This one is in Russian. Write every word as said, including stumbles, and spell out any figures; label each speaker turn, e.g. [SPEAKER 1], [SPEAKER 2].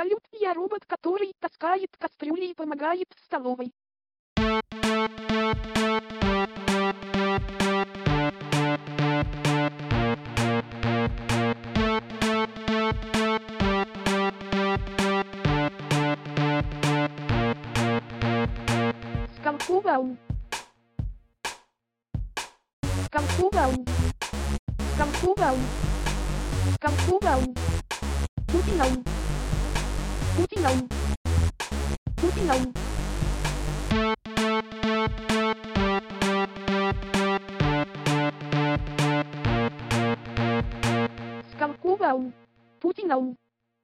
[SPEAKER 1] Салют, я робот, который таскает кастрюли и помогает в столовой. Скалковал. Скалковал. Скалковал. Скалковал. Путинал. Путинал. Путинал. Скалковал. Путинал.